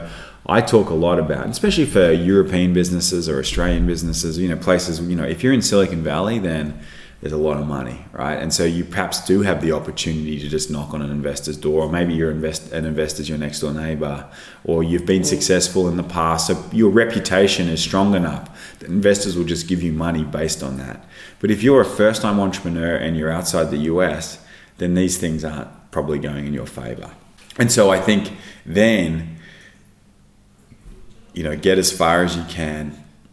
[SPEAKER 2] I talk a lot about, especially for European businesses or Australian businesses, places, if you're in Silicon Valley, then there's a lot of money, right? And so you perhaps do have the opportunity to just knock on an investor's door, or maybe an investor's your next door neighbor, or you've been successful in the past, so your reputation is strong enough that investors will just give you money based on that. But if you're a first-time entrepreneur and you're outside the US, then these things aren't probably going in your favor. And so I think then, get as far as you can,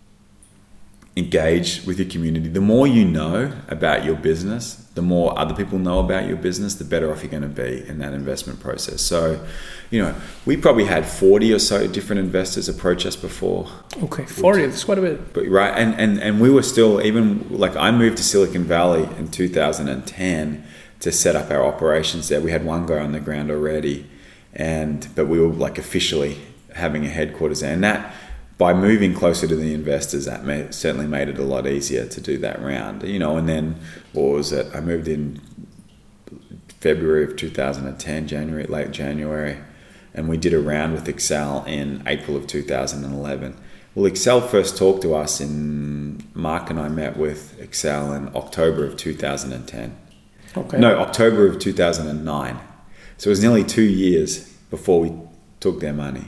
[SPEAKER 2] engage with your community. The more you know about your business, the more other people know about your business, the better off you're going to be in that investment process. So, we probably had 40 or so different investors approach us before.
[SPEAKER 1] Okay, 40, that's quite a bit.
[SPEAKER 2] But right, and we were still, even like I moved to Silicon Valley in 2010 to set up our operations there. We had one guy on the ground already, but we were like officially having a headquarters there. And that, by moving closer to the investors, that certainly made it a lot easier to do that round. And then, what was it? I moved in February of 2010, late January, and we did a round with Excel in April of 2011. Well, Excel first talked to us Mark and I met with Excel in October of 2010.
[SPEAKER 1] Okay.
[SPEAKER 2] No, October of 2009. So it was nearly 2 years before we took their money.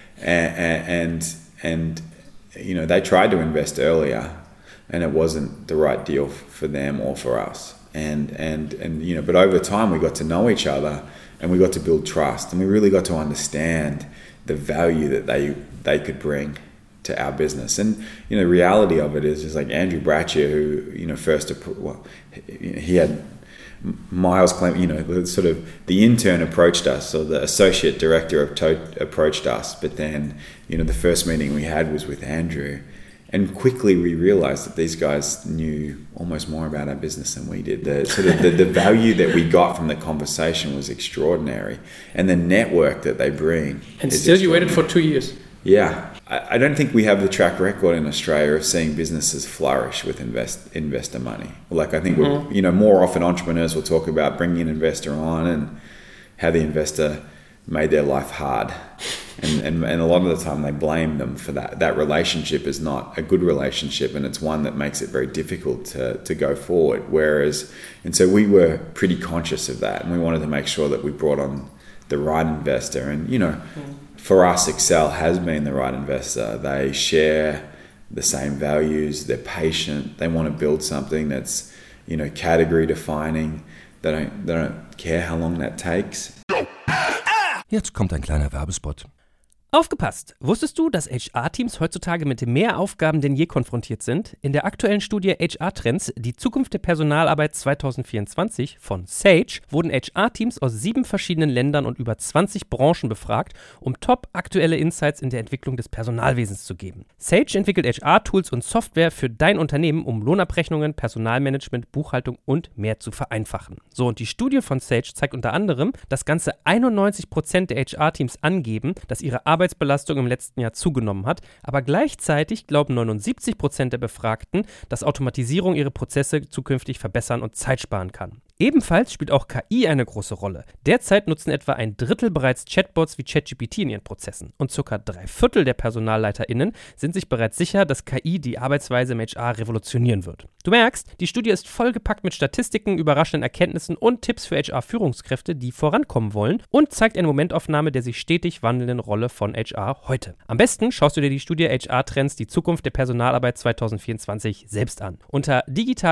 [SPEAKER 2] And they tried to invest earlier, and it wasn't the right deal for them or for us. But over time we got to know each other, and we got to build trust, and we really got to understand the value that they could bring to our business. And the reality of it is like Andrew Braccia, who he had Miles claim, sort of the intern approached us, or the associate director approached us, but then, the first meeting we had was with Andrew, and quickly we realized that these guys knew almost more about our business than we did. The value that we got from the conversation was extraordinary, and the network that they bring.
[SPEAKER 1] And still you waited for 2 years.
[SPEAKER 2] Yeah. I don't think we have the track record in Australia of seeing businesses flourish with investor money. Like, I think more often entrepreneurs will talk about bringing an investor on and how the investor made their life hard. And a lot of the time they blame them for that. That relationship is not a good relationship, and it's one that makes it very difficult to go forward. And so we were pretty conscious of that, and we wanted to make sure that we brought on the right investor. And, for us, Excel has been the right investor. They share the same values. They're patient. They want to build something that's, category defining. They don't care how long that takes.
[SPEAKER 4] Jetzt kommt ein kleiner Werbespot.
[SPEAKER 3] Aufgepasst! Wusstest du, dass HR-Teams heutzutage mit mehr Aufgaben denn je konfrontiert sind? In der aktuellen Studie HR-Trends, die Zukunft der Personalarbeit 2024 von Sage, wurden HR-Teams aus 7 verschiedenen Ländern und über 20 Branchen befragt, um top-aktuelle Insights in der Entwicklung des Personalwesens zu geben. Sage entwickelt HR-Tools und Software für dein Unternehmen, um Lohnabrechnungen, Personalmanagement, Buchhaltung und mehr zu vereinfachen. So, und die Studie von Sage zeigt unter anderem, dass ganze 91% der HR-Teams angeben, dass ihre Arbeitsbelastung im letzten Jahr zugenommen hat, aber gleichzeitig glauben 79% der Befragten, dass Automatisierung ihre Prozesse zukünftig verbessern und Zeit sparen kann. Ebenfalls spielt auch KI eine große Rolle. Derzeit nutzen etwa 1/3 bereits Chatbots wie ChatGPT in ihren Prozessen und ca. 3/4 der PersonalleiterInnen sind sich bereits sicher, dass KI die Arbeitsweise im HR revolutionieren wird. Du merkst, die Studie ist vollgepackt mit Statistiken, überraschenden Erkenntnissen und Tipps für HR-Führungskräfte, die vorankommen wollen, und zeigt eine Momentaufnahme der sich stetig wandelnden Rolle von HR heute. Am besten schaust du dir die Studie HR-Trends, die Zukunft der Personalarbeit 2024 selbst an. Unter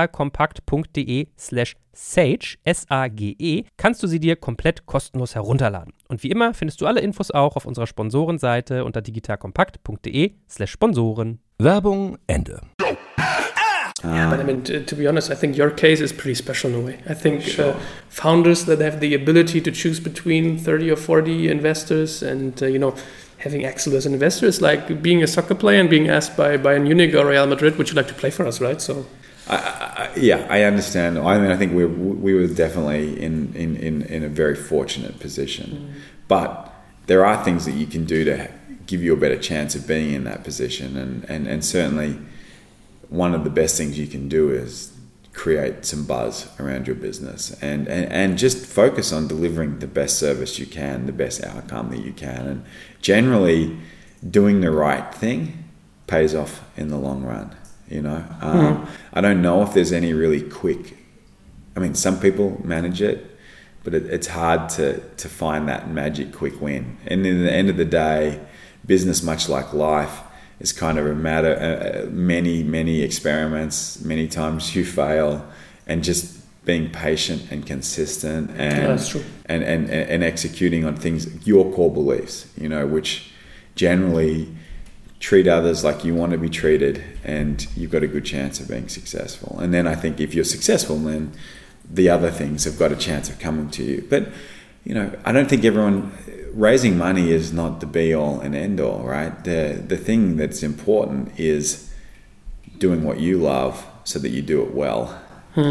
[SPEAKER 3] digitalkompakt.de/Sage, S-A-G-E, kannst du sie dir komplett kostenlos herunterladen. Und wie immer findest du alle Infos auch auf unserer Sponsorenseite unter digitalkompakt.de/Sponsoren.
[SPEAKER 4] Werbung Ende.
[SPEAKER 1] Yeah, but I mean, to be honest, I think your case is pretty special in a way. I think founders that have the ability to choose between 30 or 40 investors and, having Axel as an investor is like being a soccer player and being asked by Bayern Munich or Real Madrid, would you like to play for us, right? So,
[SPEAKER 2] I understand. I mean, I think we were definitely in a very fortunate position, but there are things that you can do to give you a better chance of being in that position, and certainly one of the best things you can do is create some buzz around your business and just focus on delivering the best service you can, the best outcome that you can. And generally, doing the right thing pays off in the long run. I don't know if there's any really quick. I mean, some people manage it, but it's hard to find that magic quick win. And in the end of the day, business, much like life, is kind of a matter. Many experiments, many times you fail, and just being patient and consistent and executing on things, your core beliefs, which generally treat others like you want to be treated, and you've got a good chance of being successful. And then I think if you're successful, then the other things have got a chance of coming to you. But I don't think raising money is not the be all and end all, right? The thing that's important is doing what you love so that you do it well.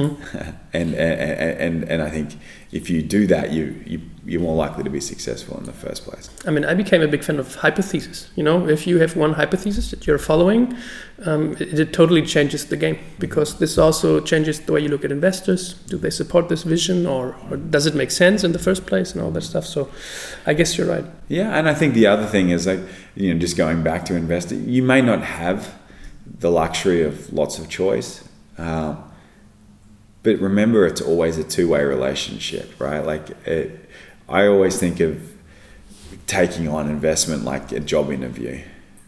[SPEAKER 2] And I think if you do that, you're more likely to be successful in the first place.
[SPEAKER 1] I mean, I became a big fan of hypothesis. If you have one hypothesis that you're following, it totally changes the game, because this also changes the way you look at investors. Do they support this vision, or does it make sense in the first place, and all that stuff? So I guess you're right.
[SPEAKER 2] Yeah, and I think the other thing is just going back to investing, you may not have the luxury of lots of choice. But remember, it's always a two-way relationship, right? I always think of taking on investment like a job interview.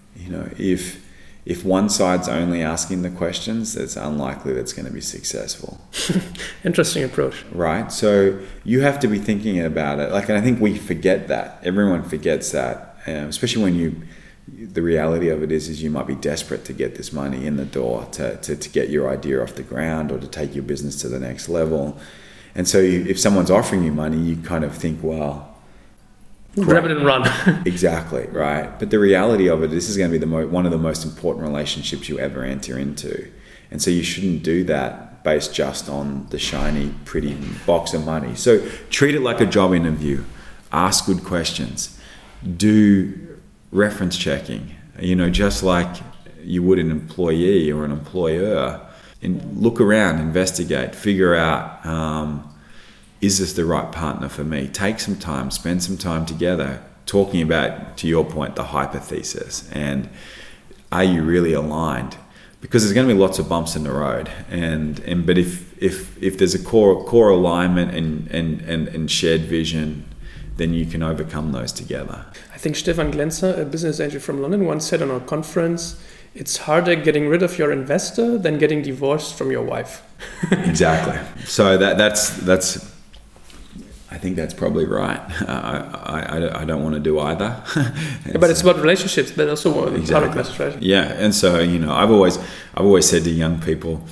[SPEAKER 2] If one side's only asking the questions, it's unlikely that's going to be successful.
[SPEAKER 1] Interesting approach.
[SPEAKER 2] Right? So you have to be thinking about it. And I think we forget that. Everyone forgets that, especially when the reality of it is you might be desperate to get this money in the door to get your idea off the ground, or to take your business to the next level. And so if someone's offering you money, you kind of think, well,
[SPEAKER 1] grab it and run.
[SPEAKER 2] Exactly, right? But the reality of it, this is going to be one of the most important relationships you ever enter into. And so you shouldn't do that based just on the shiny, pretty box of money. So treat it like a job interview. Ask good questions. Do reference checking, just like you would an employee or an employer. And look around, investigate, figure out, is this the right partner for me? Take some time, spend some time together talking about, to your point, the hypothesis, and are you really aligned? Because there's going to be lots of bumps in the road, but if there's a core alignment and shared vision, then you can overcome those together.
[SPEAKER 1] I think Stefan Glänzer, a business angel from London, once said on a conference, it's harder getting rid of your investor than getting divorced from your wife.
[SPEAKER 2] Exactly. So that's I think that's probably right. I don't want to do either.
[SPEAKER 1] But it's about relationships. That's also part of message, right?
[SPEAKER 2] Yeah, and so I've always said to young people,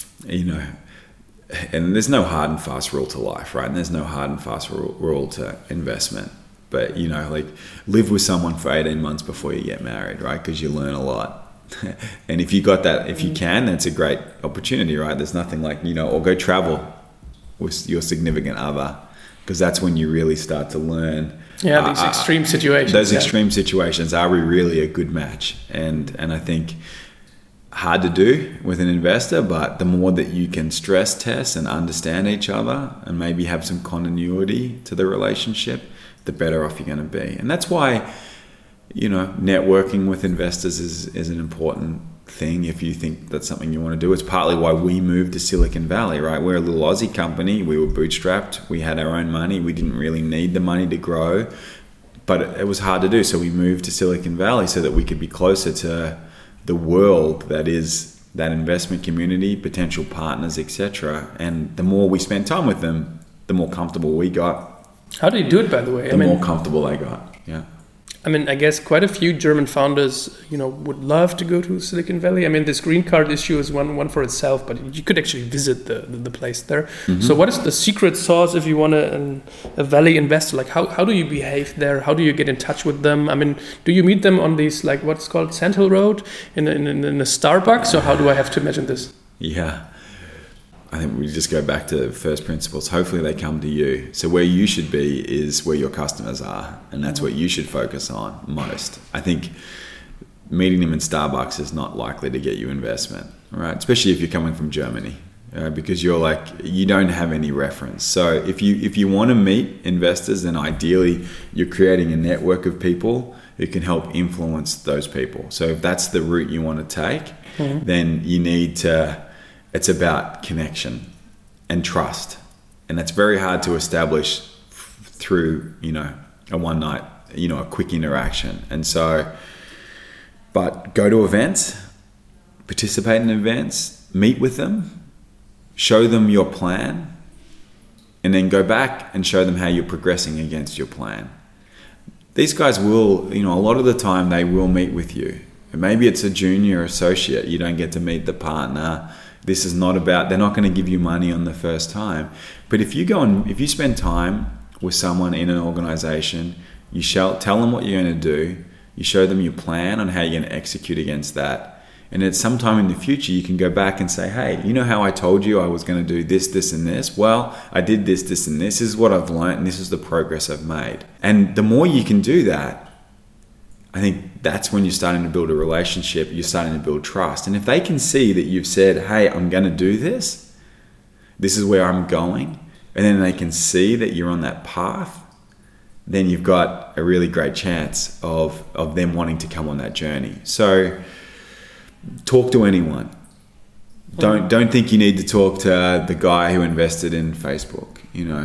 [SPEAKER 2] and there's no hard and fast rule to life, right? And there's no hard and fast rule to investment. But, live with someone for 18 months before you get married, right? Because you learn a lot. And if you got that, if you can, that's a great opportunity, right? There's nothing like, or go travel with your significant other, because that's when you really start to learn.
[SPEAKER 1] Yeah, these extreme situations.
[SPEAKER 2] Those extreme situations, are we really a good match? And I think hard to do with an investor, but the more that you can stress test and understand each other and maybe have some continuity to the relationship, the better off you're going to be. And that's why, networking with investors is an important thing if you think that's something you want to do. It's partly why we moved to Silicon Valley, right? We're a little Aussie company. We were bootstrapped. We had our own money. We didn't really need the money to grow, but it was hard to do. So we moved to Silicon Valley so that we could be closer to the world that is that investment community, potential partners, etc. And the more we spent time with them, the more comfortable we got.
[SPEAKER 1] How do you do it, by the way?
[SPEAKER 2] The more comfortable they got, yeah.
[SPEAKER 1] I mean, I guess quite a few German founders, would love to go to Silicon Valley. I mean, this green card issue is one for itself, but you could actually visit the place there. Mm-hmm. So what is the secret sauce if you want a Valley investor? Like, how do you behave there? How do you get in touch with them? I mean, do you meet them on these, like, what's called Sand Hill Road in a Starbucks? Or how do I have to imagine this?
[SPEAKER 2] Yeah. I think we just go back to first principles. Hopefully they come to you. So where you should be is where your customers are, and that's what you should focus on most. I think meeting them in Starbucks is not likely to get you investment, right? Especially if you're coming from Germany, because you don't have any reference. So if you want to meet investors, then ideally you're creating a network of people who can help influence those people. So if that's the route you want to take, then you need to, it's about connection and trust. And that's very hard to establish through, a one night, a quick interaction. And so, but go to events, participate in events, meet with them, show them your plan, and then go back and show them how you're progressing against your plan. These guys will, a lot of the time they will meet with you. And maybe it's a junior associate, you don't get to meet the partner. This is not about, they're not going to give you money on the first time. But if you spend time with someone in an organization, you shall tell them what you're going to do, you show them your plan on how you're going to execute against that. And at some time in the future, you can go back and say, hey, you know how I told you I was going to do this, this, and this? Well, I did this, this, and this. This is what I've learned, and this is the progress I've made. And the more you can do that, I think that's when you're starting to build a relationship, you're starting to build trust. And if they can see that you've said, hey, I'm going to do this, this is where I'm going, and then they can see that you're on that path, then you've got a really great chance of them wanting to come on that journey. So talk to anyone. Don't think you need to talk to the guy who invested in Facebook.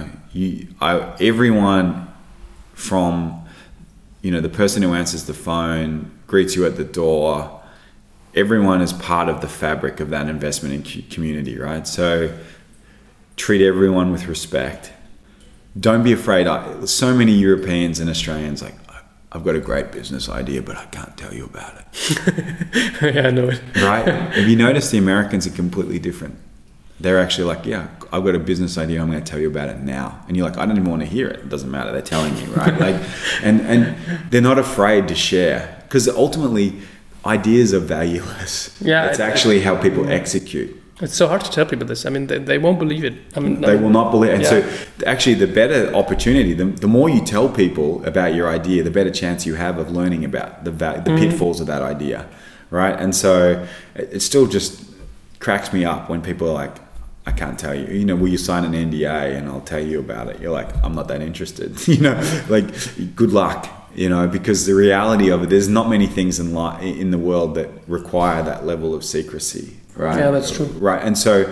[SPEAKER 2] Everyone from the person who answers the phone, greets you at the door, everyone is part of the fabric of that investment in community, right? So treat everyone with respect. Don't be afraid. So many Europeans and Australians I've got a great business idea, but I can't tell you about it.
[SPEAKER 1] Yeah, I know it.
[SPEAKER 2] Right? Have you noticed the Americans are completely different? They're actually like, yeah, I've got a business idea, I'm going to tell you about it now. And you're like, I don't even want to hear it. It doesn't matter. They're telling you, right? And they're not afraid to share, because ultimately ideas are valueless.
[SPEAKER 1] Yeah,
[SPEAKER 2] it's actually how people execute.
[SPEAKER 1] It's so hard to tell people this. I mean, they won't believe it.
[SPEAKER 2] They will not believe it. And so actually the better opportunity, the more you tell people about your idea, the better chance you have of learning about the pitfalls of that idea, right? And so it still just cracks me up when people are like, I can't tell you, will you sign an NDA and I'll tell you about it? You're like, I'm not that interested, good luck. Because the reality of it, there's not many things in the world that require that level of secrecy, right?
[SPEAKER 1] Yeah, that's true.
[SPEAKER 2] Right, and so,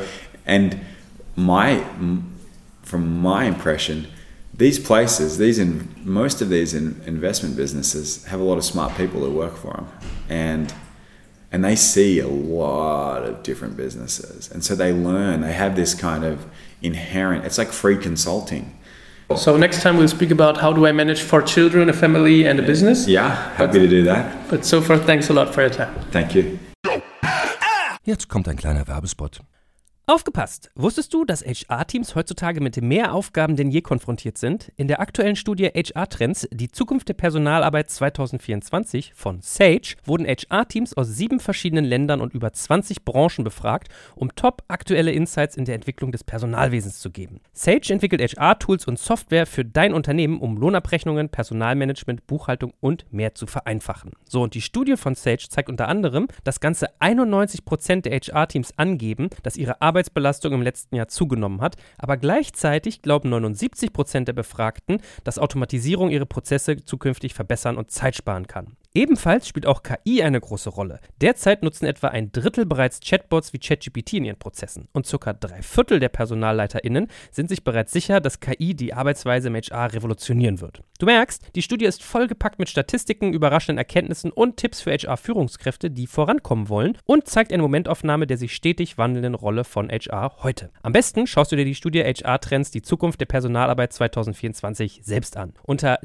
[SPEAKER 2] from my impression, these places, most of these investment businesses have a lot of smart people that work for them, and they see a lot of different businesses, and so they learn. They have this kind of inherent. It's like free consulting.
[SPEAKER 1] So next time we'll speak about how do I manage 4 children, a family, and a business.
[SPEAKER 2] Yeah, happy to do that.
[SPEAKER 1] But so far, thanks a lot for your time.
[SPEAKER 2] Thank you.
[SPEAKER 4] Jetzt kommt ein kleiner Werbespot.
[SPEAKER 3] Aufgepasst! Wusstest du, dass HR-Teams heutzutage mit mehr Aufgaben denn je konfrontiert sind? In der aktuellen Studie HR-Trends, die Zukunft der Personalarbeit 2024 von Sage, wurden HR-Teams aus 7 verschiedenen Ländern und über 20 Branchen befragt, um top-aktuelle Insights in der Entwicklung des Personalwesens zu geben. Sage entwickelt HR-Tools und Software für dein Unternehmen, um Lohnabrechnungen, Personalmanagement, Buchhaltung und mehr zu vereinfachen. So, und die Studie von Sage zeigt unter anderem, dass ganze 91% der HR-Teams angeben, dass ihre Arbeitsbelastung im letzten Jahr zugenommen hat, aber gleichzeitig glauben 79% der Befragten, dass Automatisierung ihre Prozesse zukünftig verbessern und Zeit sparen kann. Ebenfalls spielt auch KI eine große Rolle. Derzeit nutzen etwa 1/3 bereits Chatbots wie ChatGPT in ihren Prozessen und ca. 3/4 der PersonalleiterInnen sind sich bereits sicher, dass KI die Arbeitsweise im HR revolutionieren wird. Du merkst, die Studie ist vollgepackt mit Statistiken, überraschenden Erkenntnissen und Tipps für HR-Führungskräfte, die vorankommen wollen, und zeigt eine Momentaufnahme der sich stetig wandelnden Rolle von HR heute. Am besten schaust du dir die Studie HR-Trends, die Zukunft der Personalarbeit 2024 selbst an. Unter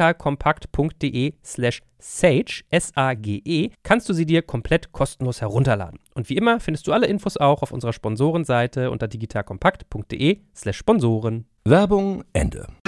[SPEAKER 3] digitalkompakt.de/Sage, S-A-G-E, kannst du sie dir komplett kostenlos herunterladen. Und wie immer findest du alle Infos auch auf unserer Sponsorenseite unter digitalkompakt.de/Sponsoren.
[SPEAKER 4] Werbung Ende.